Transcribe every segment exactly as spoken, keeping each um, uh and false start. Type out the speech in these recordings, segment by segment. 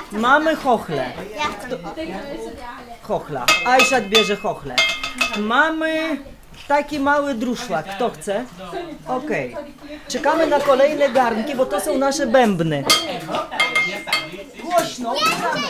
Mamy chochle. Ja chcę Chochla. Ajszat bierze chochle. Mamy taki mały druszlak. Kto chce? Okej. Okay. Czekamy na kolejne garnki, bo to są nasze bębny. Głośno. Czekamy.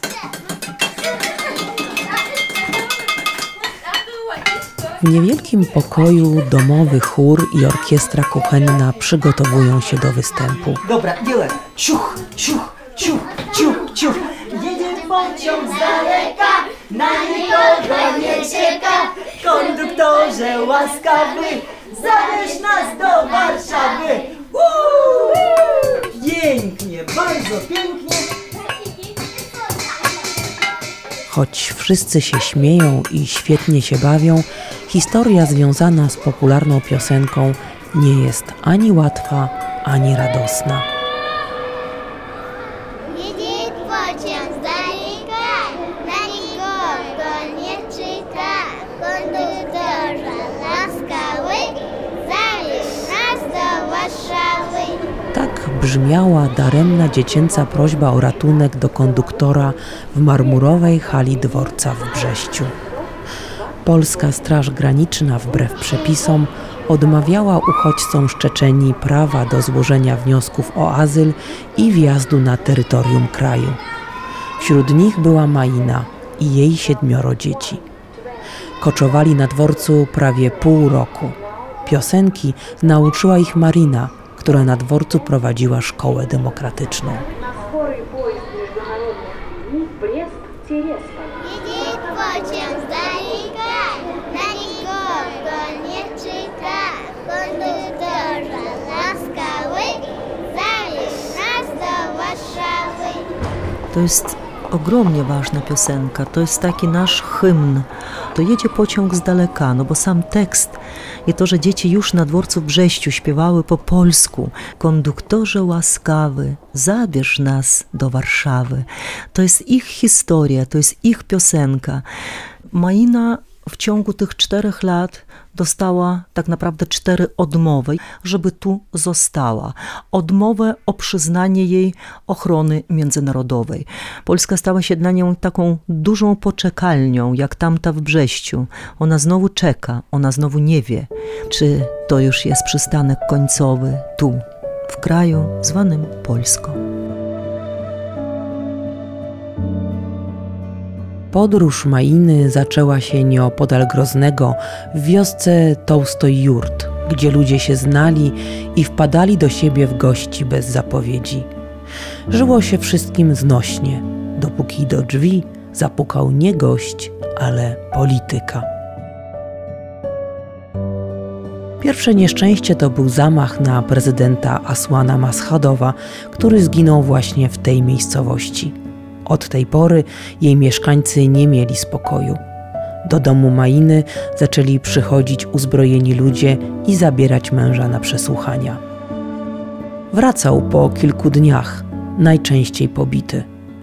W niewielkim pokoju domowy chór i orkiestra kuchenna przygotowują się do występu. Dobra, dzielę. Ciuch, ciuch, ciuch, ciuch, ciuch. Jedzie pociąg z daleka, na nikogo nie czeka. Konduktorze łaskawy, zabierz nas do Warszawy. Uuu! Pięknie, bardzo pięknie. Choć wszyscy się śmieją i świetnie się bawią, historia związana z popularną piosenką nie jest ani łatwa, ani radosna. Jedzie pociąg z daleka, na nikogo nie czeka. Konduktorze łaskawy, zabierz nas do Warszawy. Tak brzmiała daremna dziecięca prośba o ratunek do konduktora w marmurowej hali dworca w Brześciu. Polska Straż Graniczna wbrew przepisom odmawiała uchodźcom z Czeczenii prawa do złożenia wniosków o azyl i wjazdu na terytorium kraju. Wśród nich była Maina i jej siedmioro dzieci. Koczowali na dworcu prawie pół roku. Piosenki nauczyła ich Marina, która na dworcu prowadziła szkołę demokratyczną. Jedzie pociąg z daleka, na nikogo nie czeka. Konduktorze łaskawy, zabierz nas do Warszawy. To jest ogromnie ważna piosenka, to jest taki nasz hymn. To jedzie pociąg z daleka, no bo sam tekst i to, że dzieci już na dworcu w Brześciu śpiewały po polsku. Konduktorze łaskawy, zabierz nas do Warszawy. To jest ich historia, to jest ich piosenka. Maina w ciągu tych czterech lat dostała tak naprawdę cztery odmowy, żeby tu została. Odmowę o przyznanie jej ochrony międzynarodowej. Polska stała się dla nią taką dużą poczekalnią, jak tamta w Brześciu. Ona znowu czeka, ona znowu nie wie, czy to już jest przystanek końcowy tu, w kraju zwanym Polską. Podróż Mainy zaczęła się nieopodal Groznego w wiosce Tołstoj-Jurt, gdzie ludzie się znali i wpadali do siebie w gości bez zapowiedzi. Żyło się wszystkim znośnie, dopóki do drzwi zapukał nie gość, ale polityka. Pierwsze nieszczęście to był zamach na prezydenta Asłana Maschadowa, który zginął właśnie w tej miejscowości. Od tej pory jej mieszkańcy nie mieli spokoju. Do domu Mainy zaczęli przychodzić uzbrojeni ludzie i zabierać męża na przesłuchania. Wracał po kilku dniach, najczęściej pobity.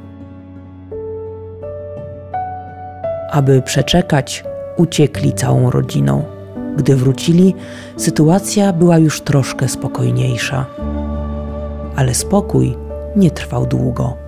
Aby przeczekać, uciekli całą rodziną. Gdy wrócili, sytuacja była już troszkę spokojniejsza. Ale spokój nie trwał długo.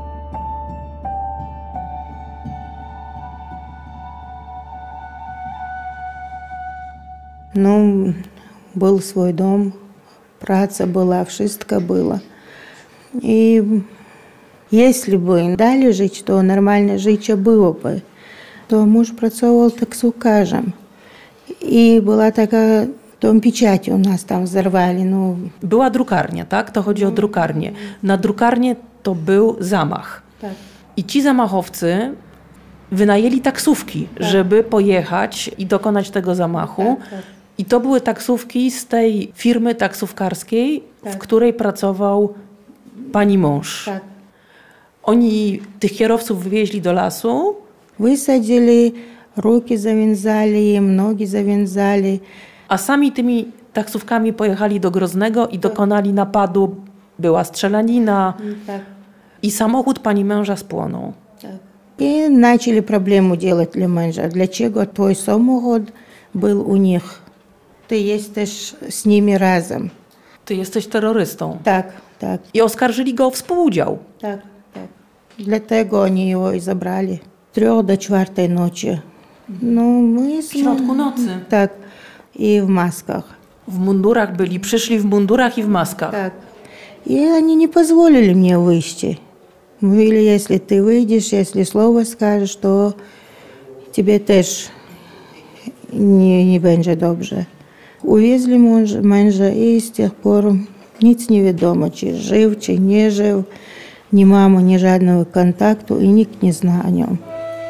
No, był swój dom, praca była, wszystko było. I jeśli by dali żyć, to normalne życie byłoby. To mąż pracował taksówkarzem. I była taka, tą pieczęć u nas tam zerwali. No. Była drukarnia, tak? To chodzi o drukarnię. Na drukarnię to był zamach. Tak. I ci zamachowcy wynajęli taksówki, tak, żeby pojechać i dokonać tego zamachu. Tak, tak. I to były taksówki z tej firmy taksówkarskiej, tak, w której pracował pani mąż. Tak. Oni tych kierowców wywieźli do lasu. Wysadzili, ruki zawiązali im, nogi zawiązali. A sami tymi taksówkami pojechali do Groznego i dokonali napadu. Była strzelanina Tak. i samochód pani męża spłonął. Tak. I zaczęli problemy делать dla męża. Dlaczego twój samochód był u nich? Ty jesteś z nimi razem. Ty jesteś terrorystą. Tak, tak, I oskarżyli go o współudział. tak, tak. Dlatego oni его i zabrali. Трех до czwartej nocy. No, my W środku nocy. Tak, i w maskach. W mundurach byli, przyszli w mundurach i w maskach. Так. И они не позволили мне выйти. Mówili, если ты выйдешь, если слово скажешь, то тебе też nie, nie będzie dobrze. Uwiezli męża, męża i z tych pор nic nie wiadomo, czy żył, czy nie żył. Nie mamy ni żadnego kontaktu i nikt nie zna o nim.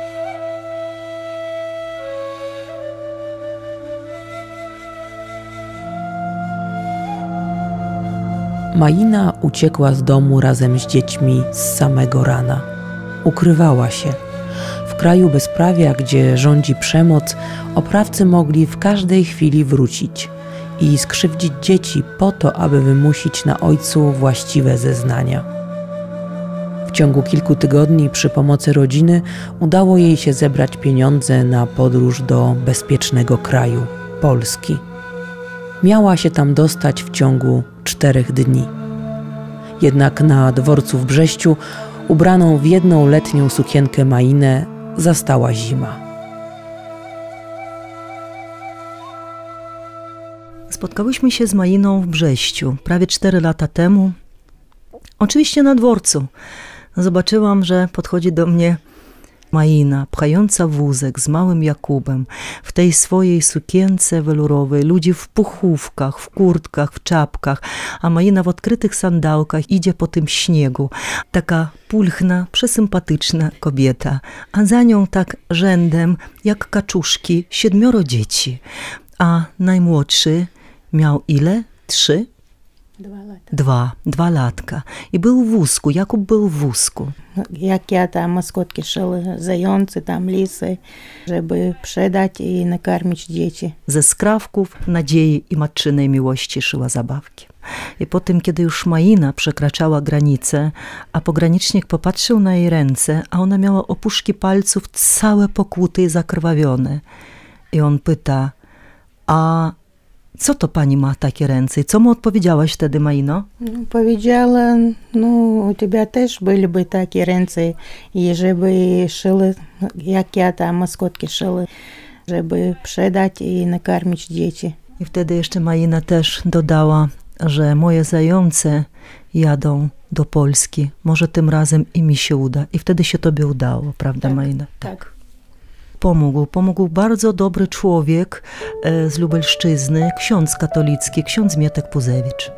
Maina uciekła z domu razem z dziećmi z samego rana. Ukrywała się. W kraju bezprawia, gdzie rządzi przemoc, oprawcy mogli w każdej chwili wrócić i skrzywdzić dzieci po to, aby wymusić na ojcu właściwe zeznania. W ciągu kilku tygodni przy pomocy rodziny udało jej się zebrać pieniądze na podróż do bezpiecznego kraju, Polski. Miała się tam dostać w ciągu czterech dni. Jednak na dworcu w Brześciu, ubraną w jedną letnią sukienkę Mainę, zastała zima. Spotkałyśmy się z Mainą w Brześciu prawie cztery lata temu. Oczywiście na dworcu. Zobaczyłam, że podchodzi do mnie Maina, pchająca wózek z małym Jakubem, w tej swojej sukience welurowej, ludzi w puchówkach, w kurtkach, w czapkach, a Maina w odkrytych sandałkach idzie po tym śniegu. Taka pulchna, przesympatyczna kobieta, a za nią tak rzędem, jak kaczuszki, siedmioro dzieci. A najmłodszy miał ile? Trzy? Dwa lata. Dwa, dwa latka. I był w wózku, Jakub był w wózku. Jak ja tam maskotki szyły, zające, tam lisy, żeby sprzedać i nakarmić dzieci. Ze skrawków nadziei i matczynej miłości szyła zabawki. I po tym, kiedy już Maina przekraczała granicę, a pogranicznik popatrzył na jej ręce, a ona miała opuszki palców całe pokłute i zakrwawione. I on pyta, a co to pani ma takie ręce? I co mu odpowiedziałaś wtedy, Maino? Powiedziała, no u ciebie też byłyby takie ręce, i żeby szyły, jak ja tam maskotki szyły, żeby sprzedać i nakarmić dzieci. I wtedy jeszcze Maina też dodała, że moje zające jadą do Polski. Może tym razem i mi się uda. I wtedy się tobie udało, prawda, Tak, Maina? tak. Pomógł, pomógł bardzo dobry człowiek e, z Lubelszczyzny, ksiądz katolicki, ksiądz Mietek Puzewicz.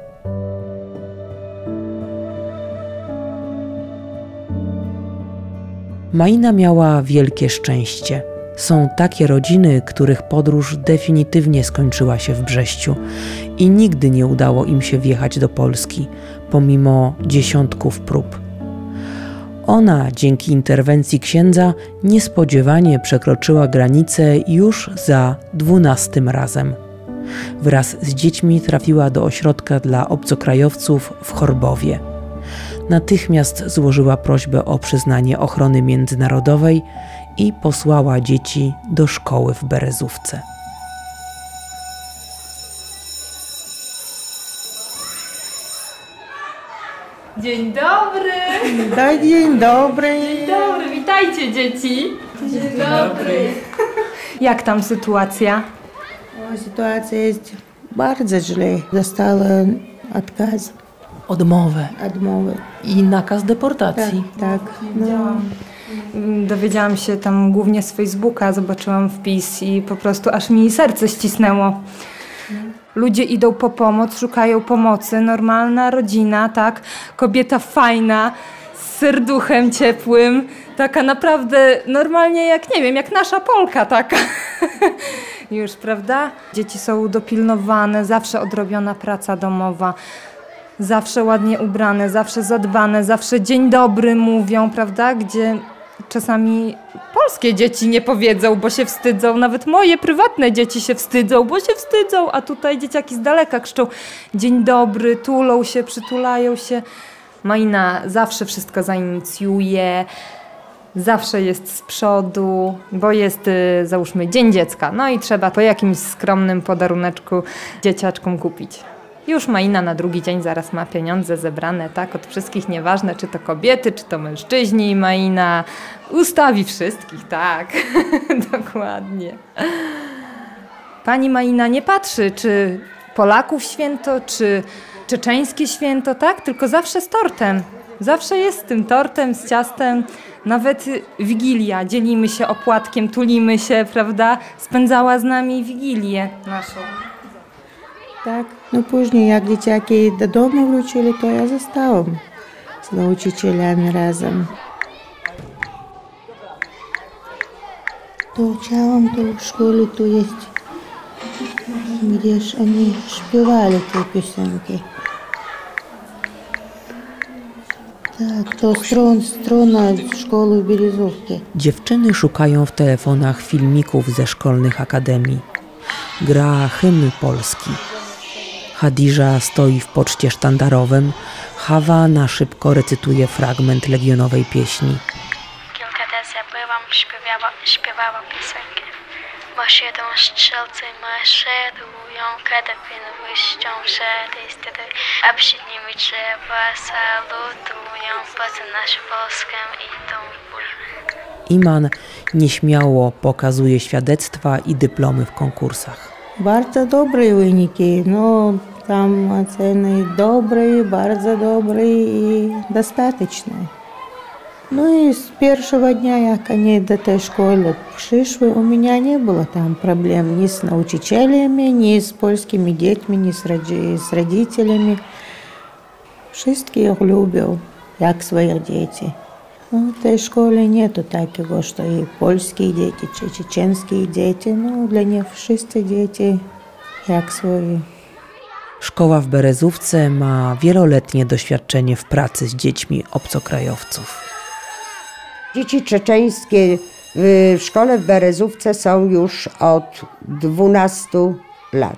Maina miała wielkie szczęście. Są takie rodziny, których podróż definitywnie skończyła się w Brześciu i nigdy nie udało im się wjechać do Polski, pomimo dziesiątków prób. Ona, dzięki interwencji księdza, niespodziewanie przekroczyła granicę już za dwunastym razem. Wraz z dziećmi trafiła do ośrodka dla obcokrajowców w Chorbowie. Natychmiast złożyła prośbę o przyznanie ochrony międzynarodowej i posłała dzieci do szkoły w Berezówce. Dzień dobry! Da, dzień dobry. Dzień dobry, witajcie dzieci! Dzień dobry! Jak tam sytuacja? O, sytuacja jest bardzo źle. Dostała odkaz, Odmowę odmowę. i nakaz deportacji. Tak, tak. No, Dowiedziałam się tam głównie z Facebooka, zobaczyłam wpis i po prostu aż mi serce ścisnęło. Ludzie idą po pomoc, szukają pomocy, normalna rodzina, tak? Kobieta fajna, z serduchem ciepłym, taka naprawdę normalnie jak, nie wiem, jak nasza Polka taka. Już, prawda? Dzieci są dopilnowane, zawsze odrobiona praca domowa, zawsze ładnie ubrane, zawsze zadbane, zawsze dzień dobry mówią, prawda? Gdzie czasami polskie dzieci nie powiedzą, bo się wstydzą. Nawet moje prywatne dzieci się wstydzą, bo się wstydzą, a tutaj dzieciaki z daleka krzyczą dzień dobry, tulą się, przytulają się. Maina zawsze wszystko zainicjuje, zawsze jest z przodu, bo jest, y, załóżmy, Dzień Dziecka. No i trzeba po jakimś skromnym podaruneczku dzieciaczkom kupić. Już Maina na drugi dzień zaraz ma pieniądze zebrane, tak, od wszystkich, nieważne czy to kobiety, czy to mężczyźni. Maina ustawi wszystkich, tak, dokładnie. Pani Maina nie patrzy, czy Polaków święto, czy czeczeńskie święto, tak, tylko zawsze z tortem. Zawsze jest z tym tortem, z ciastem. Nawet Wigilia, dzielimy się opłatkiem, tulimy się, prawda? Spędzała z nami Wigilię naszą. Tak, no później jak dzieciaki do domu wrócili, to ja zostałam z nauczycielami razem. To uczyłam, to w szkole tu jest, gdzież oni śpiewali te piosenki. Tak, to stron, strona szkoły w Berezówce. Dziewczyny szukają w telefonach filmików ze szkolnych akademii. Gra hymn polski. Hadidża stoi w poczcie sztandarowym. Hawa na szybko recytuje fragment legionowej pieśni. Kilka razy byłam, śpiewała, śpiewała piosenkę. Masz jedą strzelcy, maszerują, karabiny błyszczą, szary stry, a przed nimi drzewa salutują, poza naszą Polskę idą w bój. Iman nieśmiało pokazuje świadectwa i dyplomy w konkursach. Bardzo dobre wyniki, no tam oceny dobre, bardzo dobre i dostateczne. No i z pierwszego dnia, jak oni do tej szkoły przyszły, u mnie nie było tam problem ni z nauczycielami, ni z polskimi dziećmi, ni z, rodzi- z rodzicielami. Wszystkich ich lubią, jak swoich dzieci. No, w tej szkole nie to takiego, że i polskie dzieci, czy czeczeńskie dzieci. No, dla nich wszyscy dzieci jak swoje. Szkoła w Berezówce ma wieloletnie doświadczenie w pracy z dziećmi obcokrajowców. Dzieci czeczeńskie w szkole w Berezówce są już od dwunastu lat.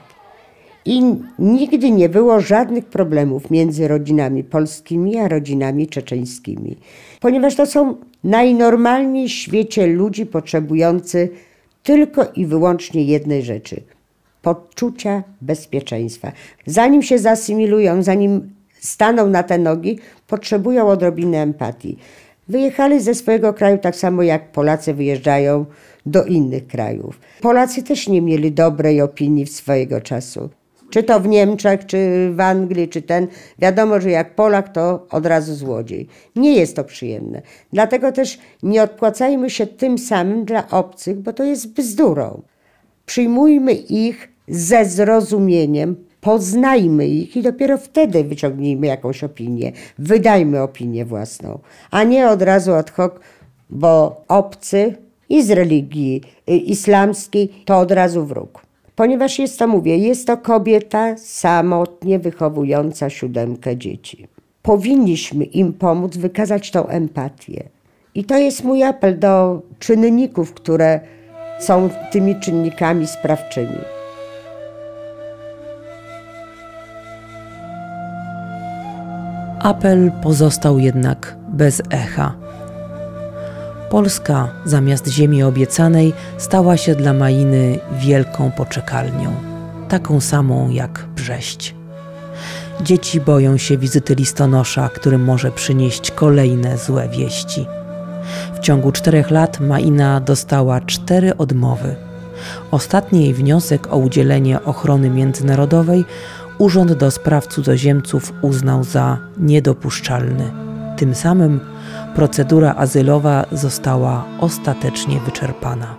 I nigdy nie było żadnych problemów między rodzinami polskimi a rodzinami czeczeńskimi. Ponieważ to są najnormalniej w świecie ludzi potrzebujący tylko i wyłącznie jednej rzeczy – poczucia bezpieczeństwa. Zanim się zasymilują, zanim staną na te nogi, potrzebują odrobiny empatii. Wyjechali ze swojego kraju tak samo jak Polacy wyjeżdżają do innych krajów. Polacy też nie mieli dobrej opinii swojego czasu. Czy to w Niemczech, czy w Anglii, czy ten. Wiadomo, że jak Polak, to od razu złodziej. Nie jest to przyjemne. Dlatego też nie odpłacajmy się tym samym dla obcych, bo to jest bzdurą. Przyjmujmy ich ze zrozumieniem, poznajmy ich i dopiero wtedy wyciągnijmy jakąś opinię. Wydajmy opinię własną, a nie od razu ad hoc, bo obcy i z religii islamskiej to od razu wróg. Ponieważ jest to, mówię, jest to kobieta samotnie wychowująca siódemkę dzieci. Powinniśmy im pomóc wykazać tą empatię. I to jest mój apel do czynników, które są tymi czynnikami sprawczymi. Apel pozostał jednak bez echa. Polska zamiast ziemi obiecanej stała się dla Mainy wielką poczekalnią, taką samą jak Brześć. Dzieci boją się wizyty listonosza, który może przynieść kolejne złe wieści. W ciągu czterech lat Maina dostała cztery odmowy. Ostatni jej wniosek o udzielenie ochrony międzynarodowej Urząd do Spraw Cudzoziemców uznał za niedopuszczalny. Tym samym procedura azylowa została ostatecznie wyczerpana.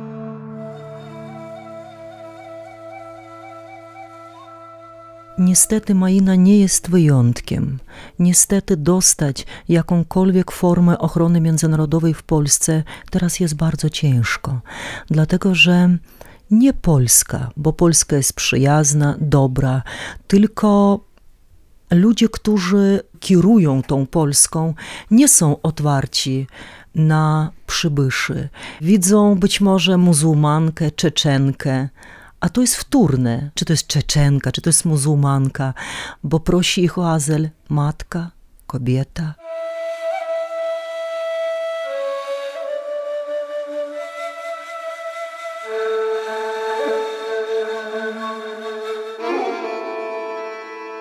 Niestety Maina nie jest wyjątkiem. Niestety dostać jakąkolwiek formę ochrony międzynarodowej w Polsce teraz jest bardzo ciężko. Dlatego, że nie Polska, bo Polska jest przyjazna, dobra, tylko ludzie, którzy kierują tą Polską, nie są otwarci na przybyszy. Widzą być może muzułmankę, Czeczenkę, a to jest wtórne, czy to jest Czeczenka, czy to jest muzułmanka, bo prosi ich o azyl matka, kobieta.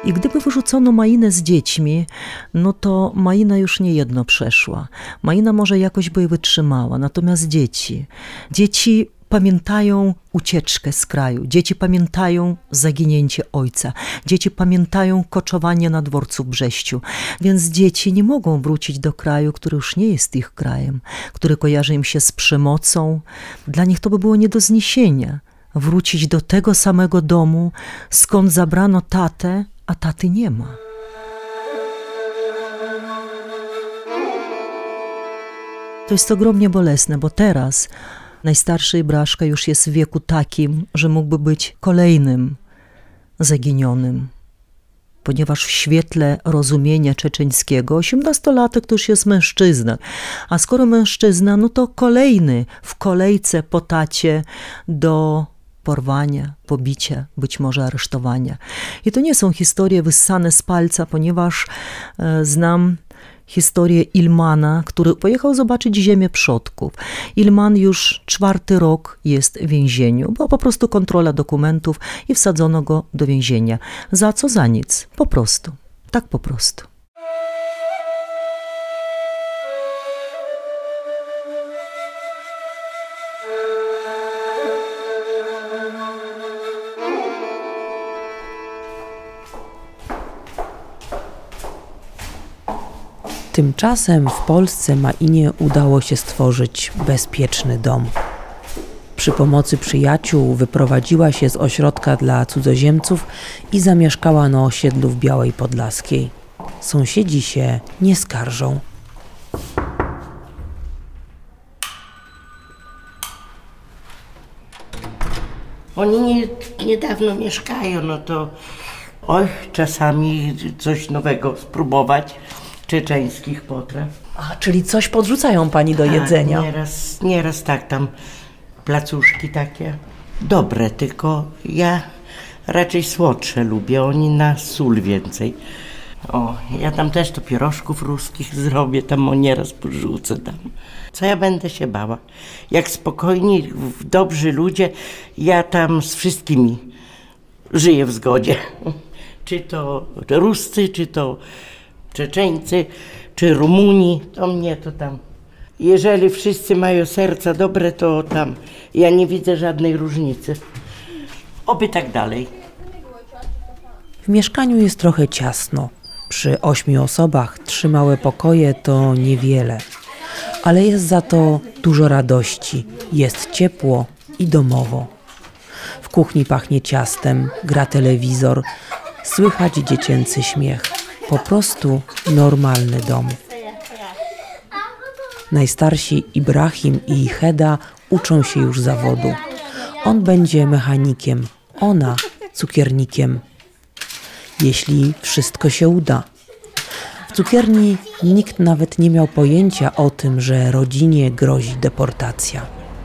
I gdyby wyrzucono Mainę z dziećmi, no to Maina już nie jedno przeszła. Maina może jakoś by wytrzymała, natomiast dzieci, dzieci pamiętają ucieczkę z kraju, dzieci pamiętają zaginięcie ojca, dzieci pamiętają koczowanie na dworcu w Brześciu, więc dzieci nie mogą wrócić do kraju, który już nie jest ich krajem, który kojarzy im się z przemocą. Dla nich to by było nie do zniesienia. Wrócić do tego samego domu, skąd zabrano tatę, a taty nie ma. To jest ogromnie bolesne, bo teraz najstarszy Ibraszka już jest w wieku takim, że mógłby być kolejnym zaginionym. Ponieważ w świetle rozumienia czeczeńskiego osiemnastolatek to już jest mężczyzna. A skoro mężczyzna, no to kolejny w kolejce po tacie do porwania, pobicia, być może aresztowania. I to nie są historie wyssane z palca, ponieważ e, znam historię Ilmana, który pojechał zobaczyć ziemię przodków. Ilman już czwarty rok jest w więzieniu. Była po prostu kontrola dokumentów i wsadzono go do więzienia. Za co? Za nic. Po prostu. Tak po prostu. Tymczasem w Polsce Mainie udało się stworzyć bezpieczny dom. Przy pomocy przyjaciół wyprowadziła się z ośrodka dla cudzoziemców i zamieszkała na osiedlu w Białej Podlaskiej. Sąsiedzi się nie skarżą. Oni nie, niedawno mieszkają, no to oj, czasami coś nowego spróbować. Czeczeńskich potraw. A, czyli coś podrzucają pani do jedzenia? A, nieraz, nieraz tak, tam placuszki takie dobre, tylko ja raczej słodsze lubię, oni na sól więcej. O, ja tam też to pierożków ruskich zrobię, tam o nieraz porzucę tam. Co ja będę się bała? Jak spokojni, dobrzy ludzie, ja tam z wszystkimi żyję w zgodzie. Czy to Ruscy, czy to Czeczeńcy, czy Rumuni, to mnie to tam. Jeżeli wszyscy mają serca dobre, to tam ja nie widzę żadnej różnicy. Oby tak dalej. W mieszkaniu jest trochę ciasno. Przy ośmiu osobach trzy małe pokoje to niewiele. Ale jest za to dużo radości. Jest ciepło i domowo. W kuchni pachnie ciastem, gra telewizor, słychać dziecięcy śmiech. Po prostu normalny dom. Najstarsi Ibrahim i Heda uczą się już zawodu. On będzie mechanikiem, ona cukiernikiem. Jeśli wszystko się uda. W cukierni nikt nawet nie miał pojęcia o tym, że rodzinie grozi deportacja.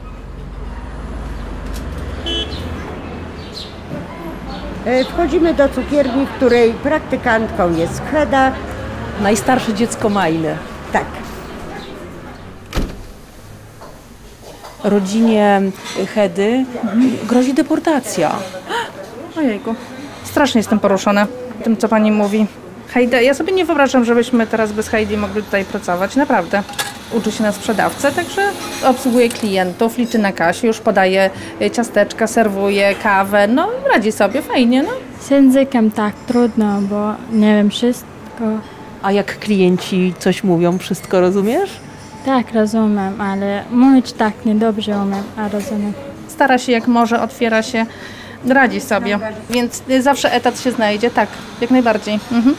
Wchodzimy do cukierni, w której praktykantką jest Heda. Najstarsze dziecko Mainy. Tak. Rodzinie Hedy grozi deportacja. Ojejku, strasznie jestem poruszona tym, co pani mówi. Hejda, ja sobie nie wyobrażam, żebyśmy teraz bez Hejdy mogli tutaj pracować, naprawdę. Uczy się na sprzedawcę, także obsługuje klientów, liczy na kasie, już podaje ciasteczka, serwuje kawę, no radzi sobie, fajnie, no. Z językiem tak trudno, bo nie wiem wszystko. A jak klienci coś mówią, wszystko rozumiesz? Tak, rozumiem, ale mówić tak niedobrze umiem, a rozumiem. Stara się jak może, otwiera się, radzi sobie, więc zawsze etat się znajdzie, tak, jak najbardziej. Mhm.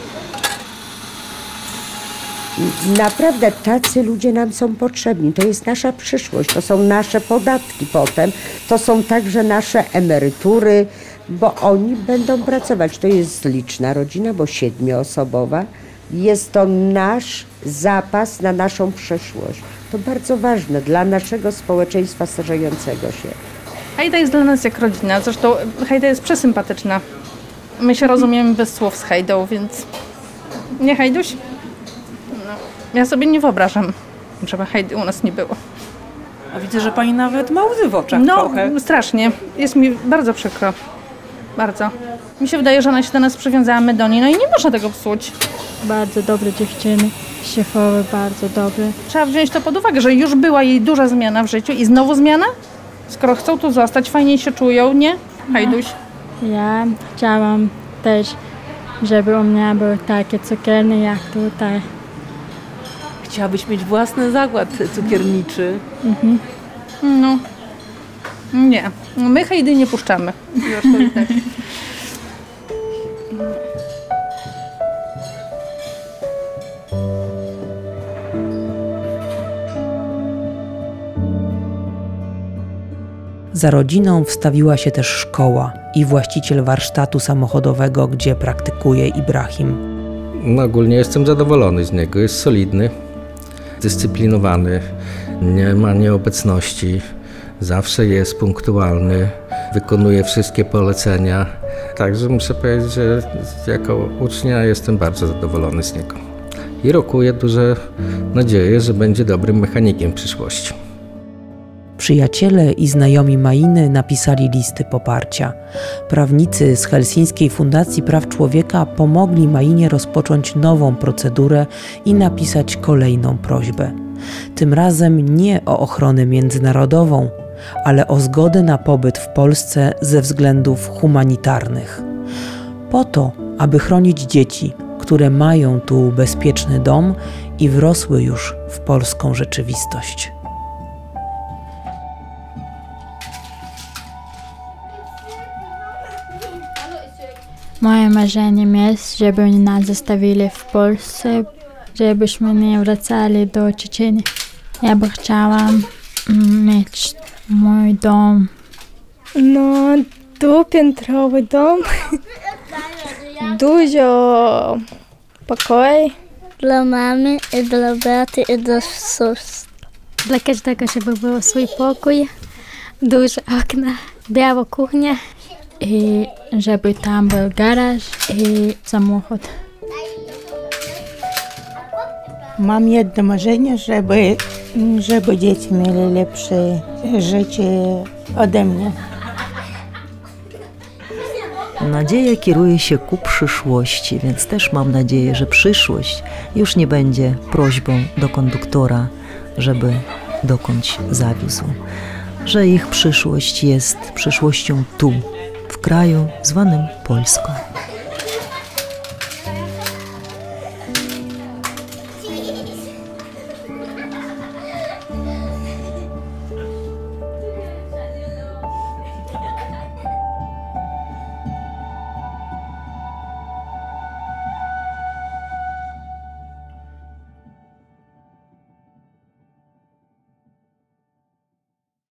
Naprawdę tacy ludzie nam są potrzebni. To jest nasza przyszłość, to są nasze podatki potem, to są także nasze emerytury, bo oni będą pracować. To jest liczna rodzina, bo siedmioosobowa. Jest to nasz zapas na naszą przyszłość. To bardzo ważne dla naszego społeczeństwa starzejącego się. Hejda jest dla nas jak rodzina, zresztą Hejda jest przesympatyczna. My się rozumiemy bez słów z Hejdą, więc nie Hejduś? No, ja sobie nie wyobrażam, żeby Hejdy u nas nie było. A widzę, że pani nawet ma łzy w oczach No, trochę. strasznie. Jest mi bardzo przykro. Bardzo. Mi się wydaje, że ona się do nas przywiązała, my do niej, no i nie można tego psuć. Bardzo dobre dziewczyny, szefowe bardzo dobre. Trzeba wziąć to pod uwagę, że już była jej duża zmiana w życiu i znowu zmiana? Skoro chcą tu zostać, fajniej się czują, nie? Hajduś. Ja chciałam też, żeby u mnie były takie cukiernie jak tutaj. Chciałabyś mieć własny zakład cukierniczy. Mhm. No. Nie. My Hejdy nie puszczamy. Już to i tak. Za rodziną wstawiła się też szkoła i właściciel warsztatu samochodowego, gdzie praktykuje Ibrahim. No, ogólnie jestem zadowolony z niego. Jest solidny, dyscyplinowany, nie ma nieobecności, zawsze jest punktualny, wykonuje wszystkie polecenia. Także muszę powiedzieć, że jako ucznia jestem bardzo zadowolony z niego. I rokuję duże nadzieję, że będzie dobrym mechanikiem w przyszłości. Przyjaciele i znajomi Mainy napisali listy poparcia. Prawnicy z Helsińskiej Fundacji Praw Człowieka pomogli Mainie rozpocząć nową procedurę i napisać kolejną prośbę. Tym razem nie o ochronę międzynarodową, ale o zgodę na pobyt w Polsce ze względów humanitarnych. Po to, aby chronić dzieci, które mają tu bezpieczny dom i wrosły już w polską rzeczywistość. Moje marzeniem jest, żeby oni nas zostawili w Polsce, żebyśmy nie wracali do Czeczenii. Ja by chciała mieć mój dom. No, dwupiętrowy dom. Dużo pokoju. Dla mamy i dla brata i dla sióstr. Dla każdego, żeby był swój pokój, duże okna, biała kuchnia i żeby tam był garaż i samochód. Mam jedno marzenie, żeby, żeby dzieci mieli lepsze życie ode mnie. Nadzieja kieruje się ku przyszłości, więc też mam nadzieję, że przyszłość już nie będzie prośbą do konduktora, żeby dokądś zawiózł. Że ich przyszłość jest przyszłością tu, w kraju zwanym Polską.